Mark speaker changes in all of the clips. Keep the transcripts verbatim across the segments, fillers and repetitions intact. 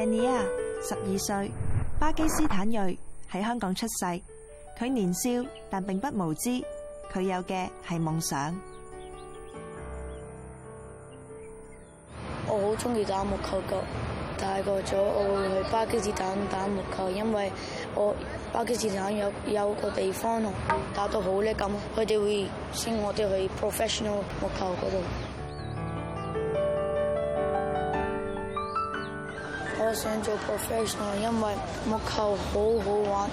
Speaker 1: Dania 十二歲，巴基斯坦裔，喺香港出世。佢年少但並不無知，佢有嘅係夢想。
Speaker 2: 我好中意打木球㗎，大個咗我會去巴基斯坦打木球，因為我巴基斯坦有有個地方打到好叻咁，佢哋會升我哋去 professional 木球嗰度。我想做 professional， 因為木球好好玩。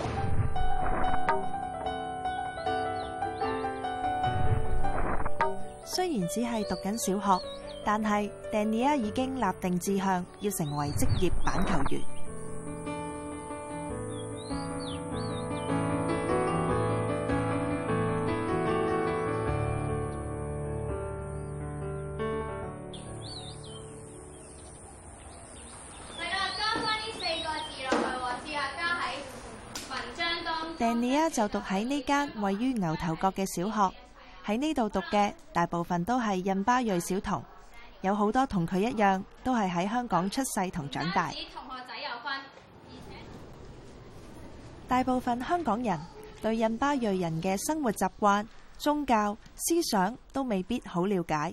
Speaker 1: 雖然只係讀緊小學，但係 Dania 已經立定志向，要成為職業板球員。Dania 就讀喺呢間位於牛頭角嘅小學，喺呢度讀嘅大部分都係印巴裔小童，有好多同佢一樣，都係喺香港出世同長大。大部分香港人對印巴裔人嘅生活習慣、宗教、思想都未必好了解。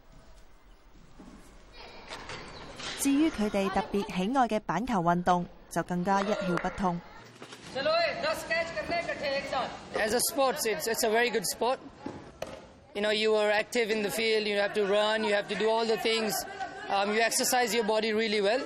Speaker 1: 至於佢哋特別喜愛嘅板球運動，就更加一竅不通。
Speaker 3: As a sport, it's it's a very good sport. You know, you are active in the field. You have to run. You have to do all the things. Um, you exercise your body really well.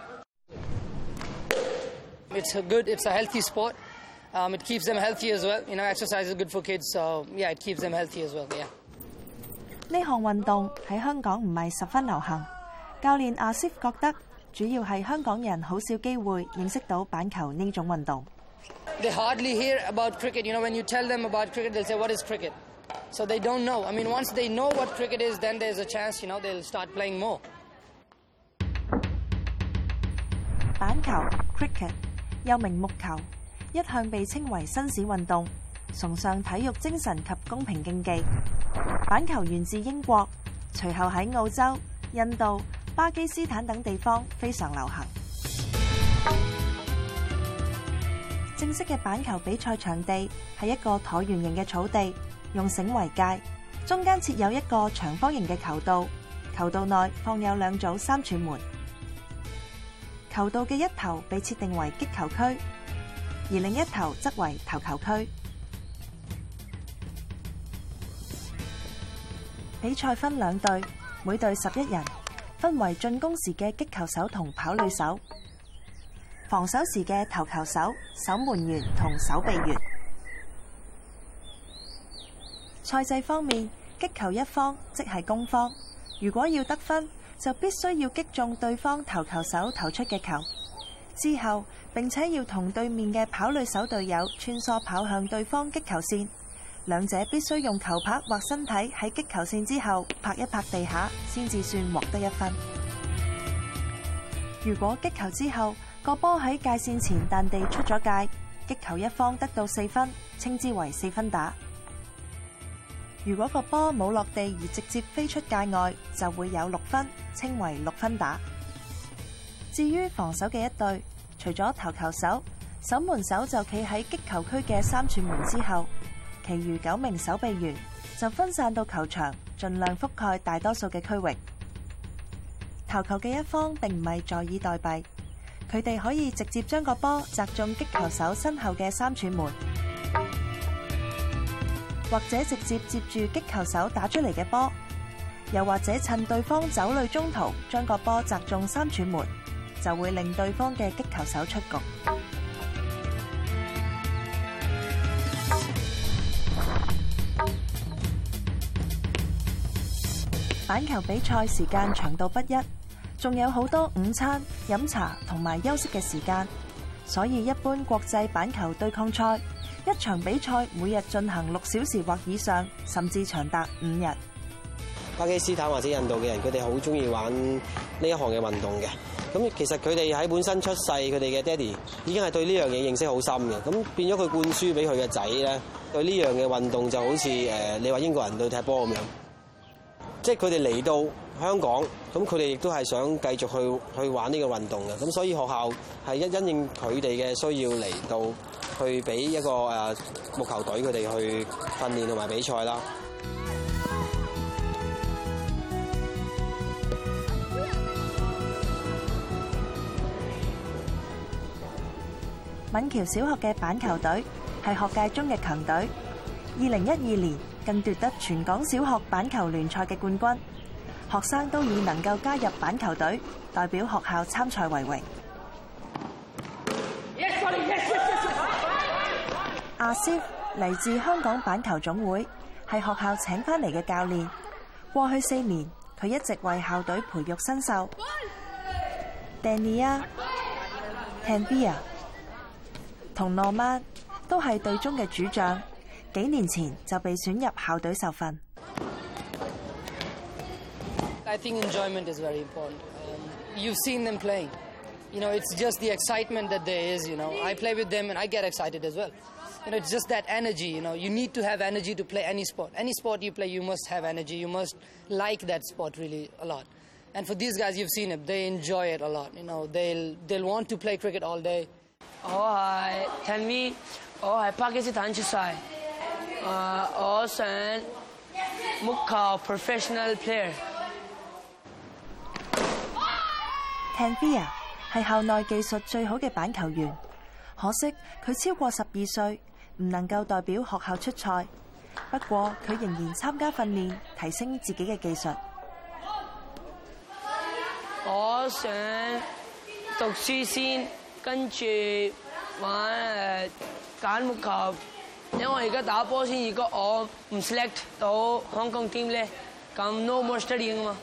Speaker 3: It's a good. It's a healthy sport. Um, it keeps them healthy as well. You know, exercise is good for kids, so yeah, it keeps them healthy as well. Yeah.
Speaker 1: 呢項運動喺香港唔係十分流行。教練阿 Sif 覺得，主要係香港人好少機會認識到板球呢種運動。
Speaker 3: They hardly hear about cricket. You know, when you tell them about cricket, they'll say, "What is cricket?" So they don't know. I mean, once they know what cricket is, then there's a chance, you know, they'll start playing more.
Speaker 1: 板球 cricket 又名木球，一向被稱為紳士運動，崇尚體育精神及公平競技。板球源自英國，隨後喺澳洲、印度、巴基斯坦等地方非常流行。正式嘅板球比賽場地係一個橢圓形嘅草地，用繩為界，中間設有一個長方形嘅球道，球道內放有兩組三寸門。球道嘅一頭被設定為擊球區，而另一頭則為投球區。比賽分兩隊，每隊十一人，分為進攻時嘅擊球手同跑壘手，防守時嘅投球手、守門員同守備員。賽制方面，擊球一方即係攻方，如果要得分，就必須要擊中對方投球手投出嘅球，之後並且要同對面嘅跑壘手隊友穿梭跑向對方擊球線，兩者必須用球拍或身體喺擊球線之後拍一拍地下，先至算獲得一分。如果擊球之後個波喺界線前彈地出咗界，擊球一方得到四分，稱之為四分打。如果個波冇落地而直接飛出界外，就會有六分，稱為六分打。至於防守嘅一隊，除咗投球手，守門手就企喺擊球區嘅三寸門之後，其餘九名守備員就分散到球場，盡量覆蓋大多數嘅區域。投球嘅一方並唔係坐以待斃，佢哋可以直接將個波擲中擊球手身後嘅三寸門，或者直接接住擊球手打出嚟嘅波，又或者趁對方走壘中途將個波擲中三寸門，就會令對方嘅擊球手出局。板球比賽時間長度不一，仲有好多午餐、飲茶同埋休息嘅時間，所以一般國際板球對抗賽一場比賽每日進行六小時或以上，甚至長達五日。
Speaker 4: 巴基斯坦或者印度嘅人，佢哋好中意玩呢一項嘅運動嘅。咁其實佢哋喺本身出世，佢哋嘅爹哋已經係對呢樣嘢認識好深嘅。咁變咗佢灌輸俾佢嘅仔咧，對呢樣嘅運動就好似誒你話英國人對踢波咁樣。即係佢哋嚟到香港，咁佢哋亦都係想繼續去去玩呢個運動嘅，咁所以學校係因因應佢哋嘅需要嚟到去俾一個誒木球隊佢哋去訓練同埋比賽啦。
Speaker 1: 敏橋小學嘅板球隊係學界中嘅強隊，二零一二年更奪得全港小學板球聯賽嘅冠軍。學生都以能夠加入板球隊，代表學校參賽為榮。阿 Sif 嚟自香港板球總會，係學校請返嚟嘅教練。過去四年，佢一直為校隊培育新秀。Dania、Tanvia 同諾曼都係隊中嘅主將，幾年前就被選入校隊受訓。
Speaker 3: I think enjoyment is very important. Um, you've seen them playing. You know, it's just the excitement that there is, you know. I play with them and I get excited as well. You know, it's just that energy, you know. You need to have energy to play any sport. Any sport you play, you must have energy. You must like that sport really a lot. And for these guys, you've seen it. They enjoy it a lot. You know, they'll, they'll want to play cricket all day.
Speaker 5: 我係 Tanvi， 我係巴基斯坦出世。誒，我想木球 professional player。Tanvia
Speaker 1: 係校內技術最好嘅板球員，可惜佢超過十二歲，唔能夠代表學校出賽。不過佢仍然參加訓練，提升自己嘅技術。
Speaker 5: 我想讀書先。跟住玩誒揀木球，因為我而家打波先。如果我唔 select 到香港 team 咧，咁 no more studying 啊嘛。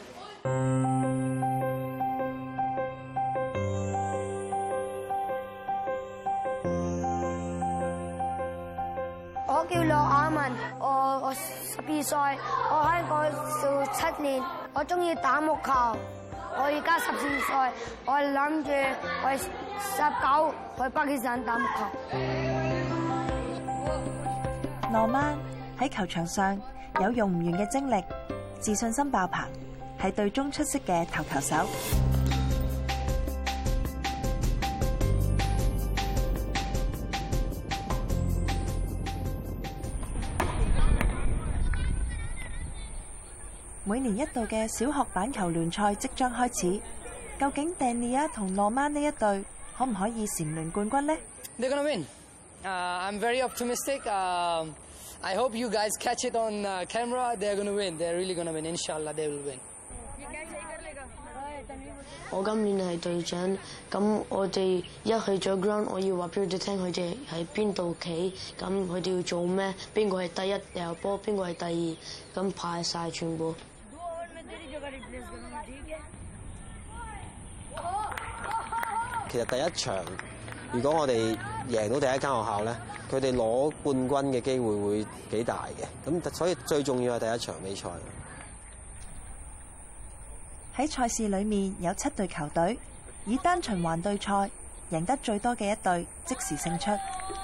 Speaker 6: 我叫羅雅文，我我十二歲，我喺嗰度七年，我中意打木球。我而家十四歲，我諗住我十九去巴基斯坦打木球。
Speaker 1: 諾曼喺球場上有用唔完嘅精力，自信心爆棚，係隊中出色嘅頭球手。每年一度嘅小學板球聯賽即將開始，究竟 Dania 同諾曼呢一隊可唔可以蟬聯冠軍呢？
Speaker 3: They're gonna win. Uh, I'm very optimistic. Uh, I hope you guys catch it on uh, camera. They're gonna win. They're really gonna win. Inshallah, they will win.
Speaker 2: 我今年係隊長，咁我哋一去咗 ground， 我要話俾佢哋聽，佢哋喺邊度企，咁佢哋要做咩，邊個係第一掉波，邊個係第二，咁排晒全部。
Speaker 4: 其實第一場，如果我哋贏到第一間學校咧，佢哋攞冠軍嘅機會會幾大嘅。咁所以最重要係第一場比賽。
Speaker 1: 喺賽事裏面有七隊球隊，以單循環對賽，贏得最多嘅一隊即時勝出。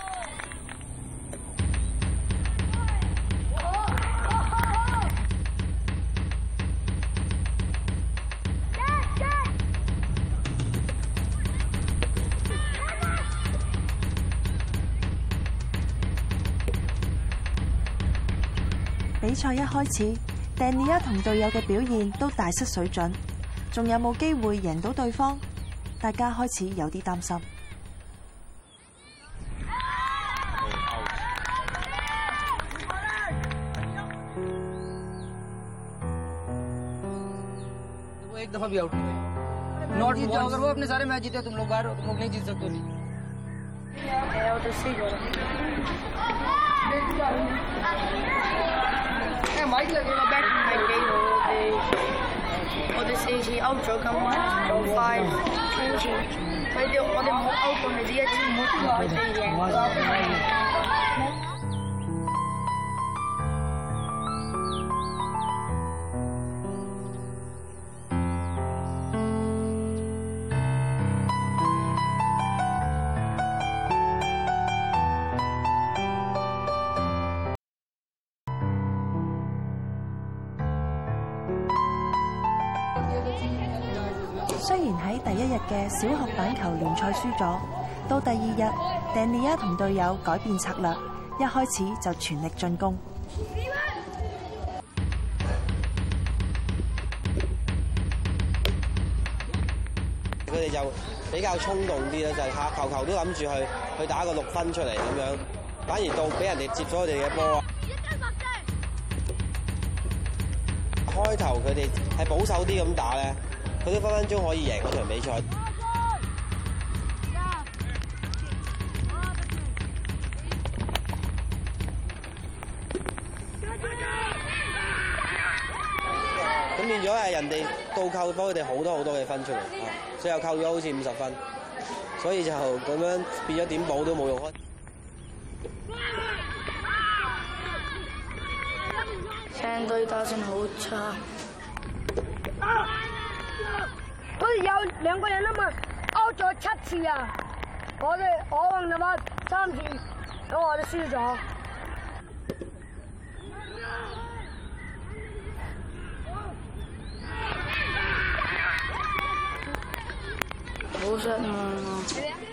Speaker 1: 比賽一開始，Dania同隊友嘅表現都大失水準，仲有冇機會贏到對方？大家開始有啲擔心。
Speaker 3: वो एक दफा भी आउट हुए। नॉट जीत जाओ, अगर वो अपने सारे मैच जीते तुम लोग बाहर हो, तुम लोग नहीं जीत सकते लीग।
Speaker 2: माइक लगेगा बैट माइक गई हो दे और दे से ही आउट जो कम जो फाइव ट्वेंटी भाई दे और दे आउट होने दिया टीम मोट हो गई है।
Speaker 1: 雖然喺第一日嘅小學板球聯賽輸咗，到第二日 Dania 同隊友改變策略，一開始就全力進攻。
Speaker 4: 佢哋就比較衝動啲啦，就係下球球都諗住去去打個六分出嚟咁樣，反而到俾人哋接咗佢哋嘅波啊！開頭佢哋係保守啲咁打咧，佢都分分鐘可以贏嗰場比賽。咁變咗係人哋倒扣幫佢哋好多好多嘅分出嚟，最後扣咗好似五十分，所以就咁樣變咗點補都冇用啊！
Speaker 2: 成隊打線好差，
Speaker 6: 好似有兩個人啊嘛 out 咗七次啊！我哋我運就話三次，咁我哋輸咗。
Speaker 2: 好失望啊！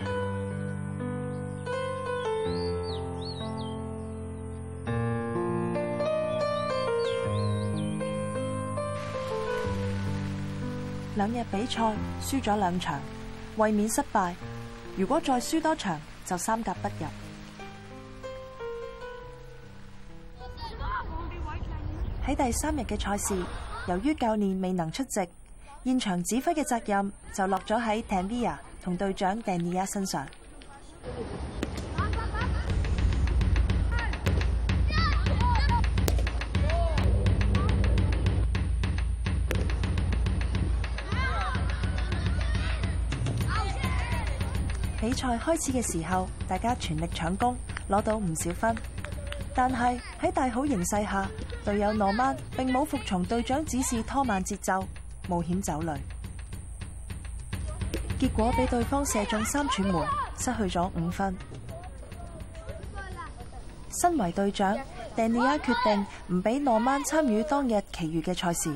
Speaker 1: 兩日比賽輸咗兩場，衛冕失敗。如果再輸多場，就三甲不入。喺第三日嘅賽事，由於教練未能出席，現場指揮嘅責任就落咗喺 Tanvia 同隊長 Dania 身上。比賽開始嘅時候，大家全力搶攻，攞到唔少分。但係喺大好形勢下，隊友諾曼並冇服從隊長指示，拖慢節奏，冒險走壘，結果俾對方射中三串門，失去咗五分。身為隊長 ，Dania 決定唔俾諾曼參與當日其餘嘅賽事。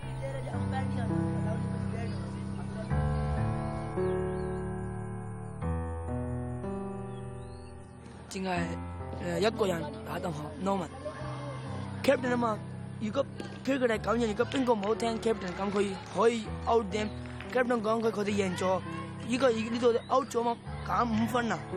Speaker 5: 淨係誒一個人打得好 ，Norman。Captain 啊嘛，如果佢哋咁樣，如果邊個唔好聽 Captain 咁，佢可以 out them。Captain 講佢佢哋贏咗，依個呢度 out 咗嘛，減五分啊！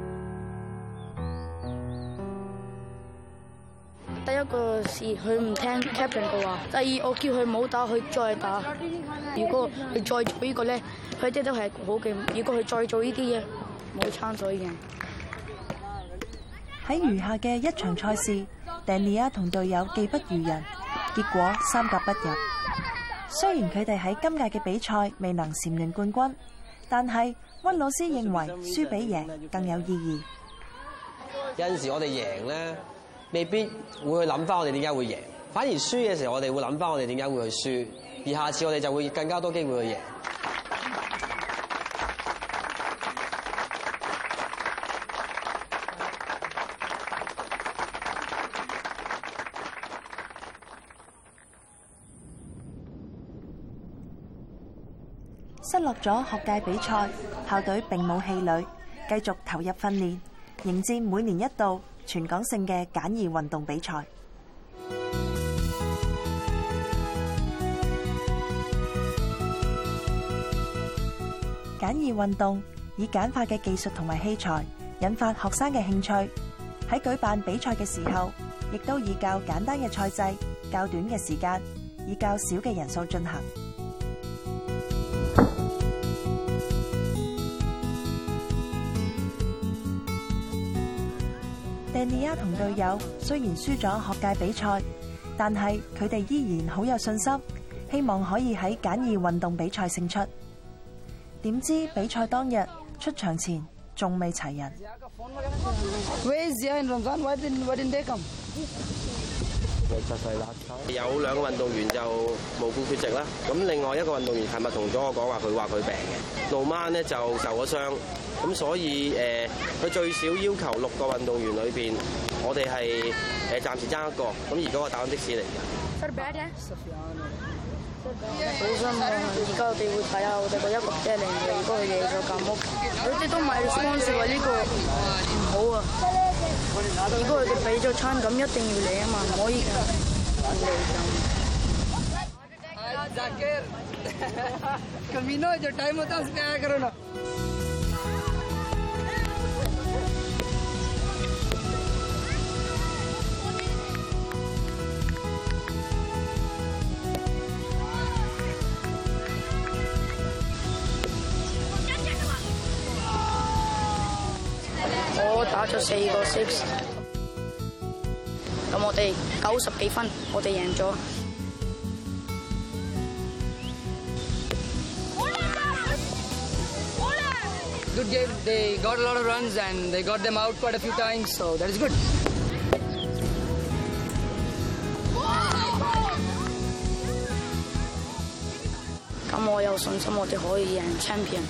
Speaker 2: 第一個是佢唔聽 Captain 嘅話，第二我叫佢唔好打，佢再打。如果佢再做呢個咧，佢哋都係好勁。如果佢再做呢啲嘢，冇參賽嘅。
Speaker 1: 喺餘下嘅一場賽事 ，Dania 同隊友技不如人，結果三甲不入。雖然佢哋喺今屆嘅比賽未能蟬聯冠軍，但係溫老師認為輸比贏更有意義。
Speaker 4: 有陣時我哋贏咧，未必會去諗翻我哋點解會贏，反而輸嘅時候我哋會諗翻我哋點解會去輸，而下次我哋就會更加多機會去贏。
Speaker 1: 失落咗學界比賽，校隊並冇氣餒，繼續投入訓練，迎戰每年一度全港性嘅簡易運動比賽。簡易運動以簡化嘅技術同埋器材，引發學生嘅興趣。喺舉辦比賽嘅時候，亦都以較簡單嘅賽制、較短嘅時間，以較少嘅人數進行。Dania 同隊友雖然輸咗學界比賽，但係佢哋依然好有信心，希望可以喺簡易運動比賽勝出。點知比賽當日出場前仲未齊人。
Speaker 4: 有兩個運動員就無故缺席啦，咁另外一個運動員係咪同咗我講話佢話佢病嘅？路曼咧就受咗傷，咁所以誒佢、呃、最少要求六個運動員裏邊，我哋係誒暫時爭一個，咁而嗰個打緊的士嚟嘅。
Speaker 2: 好失望啊！而家我哋會睇下我哋個一個一零嘅，如果佢贏咗咁屋，佢哋都唔係 sponsor 話呢個唔好啊！如果佢哋俾咗餐咁，一定要嚟啊嘛，唔可以㗎，唔嚟咁。
Speaker 5: कमीनो जो टाइम होता है उसमें आया करो ना।
Speaker 2: 我打咗四個 six， 咁我哋九十幾分，我哋贏咗。
Speaker 3: Good game. They got a lot of runs and they got them out quite a few times, so that is good.
Speaker 2: 咁我有信心我哋可以贏 champion。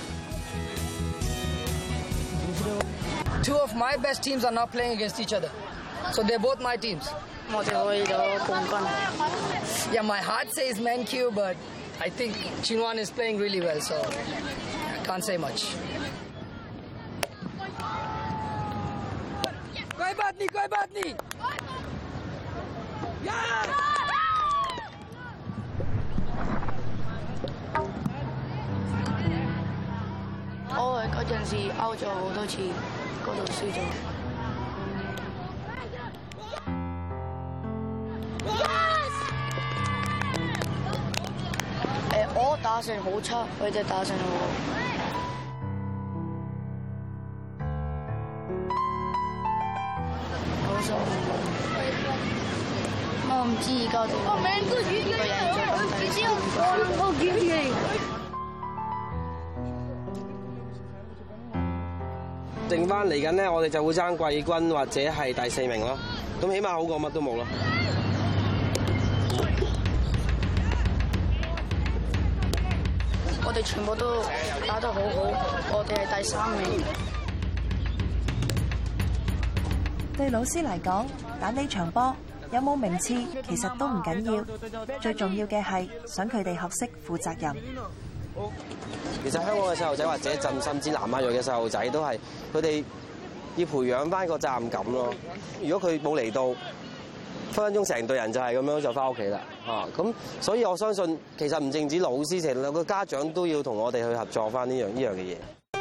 Speaker 3: Two of my best teams are now playing against each other, so they're both my teams.
Speaker 2: 我哋可以攞冠軍。
Speaker 3: Yeah, my heart says Mankiw, but I think Chinwan is playing really well, so I can't say much.
Speaker 5: कोई बात नहीं, कोई बात नहीं।
Speaker 2: 我嗰陣時 out 咗好多次，嗰度輸咗。誒，我打成好差，佢哋打成好好。好辛苦。我唔知而家點。我名都語呢個人就咁睇。我我見你。
Speaker 4: 剩翻嚟緊咧，我哋就會爭季軍或者係第四名咯。咁起碼好過乜都冇咯。
Speaker 2: 我哋全部都打得好好，我哋係第三名。
Speaker 1: 對老師嚟講，打呢場波有冇名次其實都唔緊要，最重要嘅係想佢哋學識負責任。
Speaker 4: 其實香港嘅細路仔或者鎮甚至南亞裔嘅細路仔都係佢哋要培養翻個責任感咯。如果佢冇嚟到，分分鐘成隊人就係咁樣就翻屋企啦嚇。咁所以我相信其實唔淨止老師，成兩個家長都要同我哋去合作翻呢樣呢樣嘅嘢。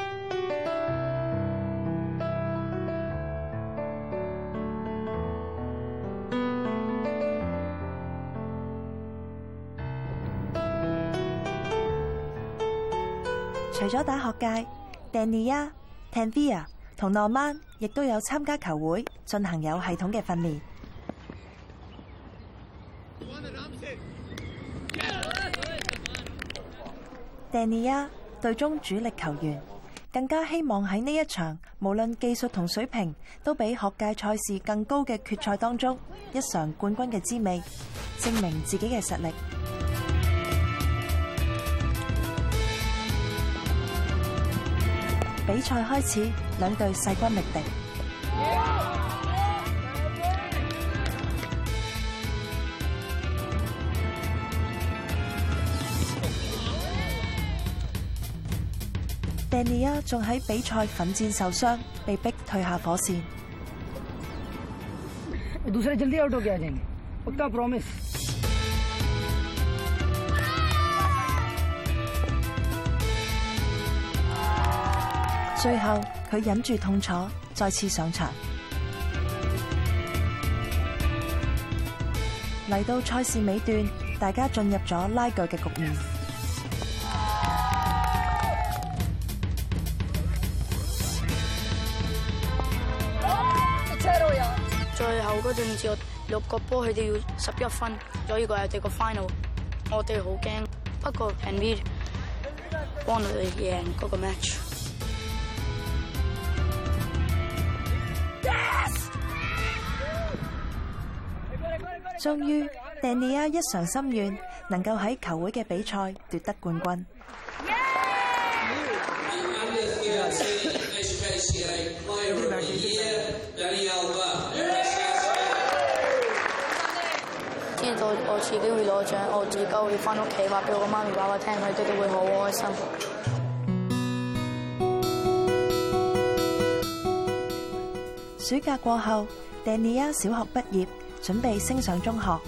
Speaker 1: 除咗打學界 ，Dania、Tanvia 同 Norman 亦都有參加球會，進行有系統嘅訓練。Dania 隊中主力球員，更加希望喺呢一場無論技術同水平都比學界賽事更高嘅決賽當中，一嘗冠軍嘅滋味，證明自己嘅實力。比賽開始，兩隊勢均力敵。Dania 仲喺比賽奮戰受傷，被逼退下火線。
Speaker 5: दूसरे जल्दी आउट हो गया जाएंगे, पक्का प्रॉमिस।
Speaker 1: 最後佢忍住痛楚，再次上場。嚟到賽事尾段，大家進入咗拉鋸嘅局面。
Speaker 2: 最後嗰陣時，我六個波佢哋要十一分，所以個係哋個 final， 我哋好驚。不過 Tanvir 幫我哋贏嗰個 match。
Speaker 1: 終於 Dania 一償心願，能夠喺球會嘅比賽奪得冠軍。
Speaker 2: 之知道我自己會攞獎，我自己會翻屋企話俾我媽咪爸爸聽，佢哋都會好開心。
Speaker 1: 暑假過後 ，Dania 小學畢業，準備升上中學。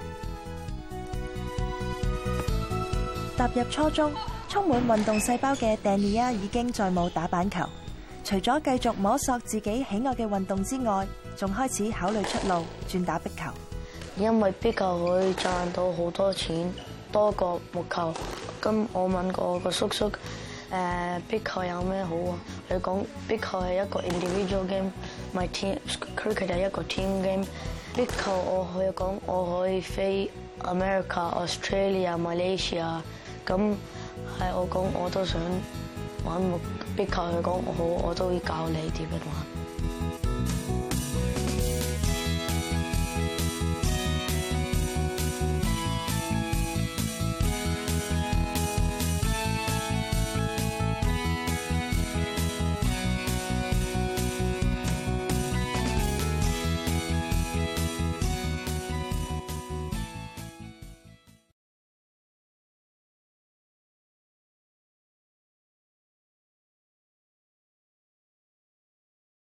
Speaker 1: 踏入初中，充滿運動細胞嘅 Dania 已經再冇打板球。除咗繼續摸索自己喜愛嘅運動之外，仲開始考慮出路，轉打壁球。
Speaker 2: 因為壁球可以賺到好多錢，多過木球。咁我問過我個叔叔，誒壁球有咩好啊？佢講壁球係一個 individual game，my team cricket 係一個 team game。壁球我可以講我可以飛 America、Australia、Malaysia。咁係我講我都想玩木壁球，佢講好，我都會教你點樣玩。